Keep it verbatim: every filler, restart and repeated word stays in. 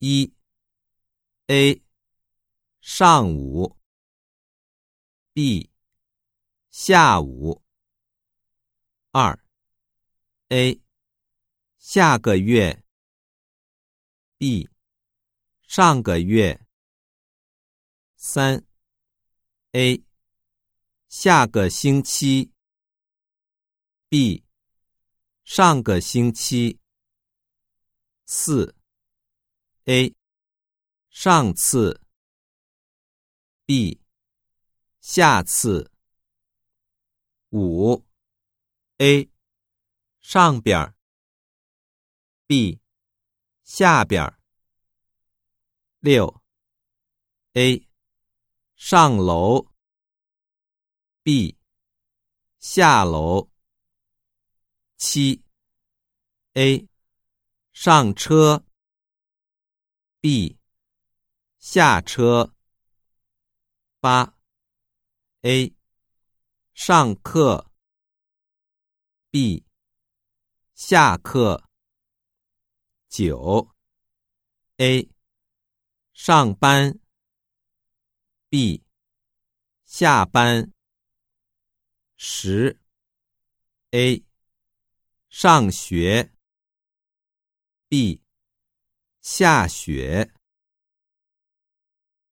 一 A 上午 B 下午。二 A 下个月 B 上个月。三 A 下个星期 B 上个星期。四 A 上次 B 下次。五 A 上边 B 下边。六 A 上楼 B 下楼。七 A 上车 B 下车。八 A 上课 B 下课。九 A 上班 B 下班。十 A 上学 B 下雪。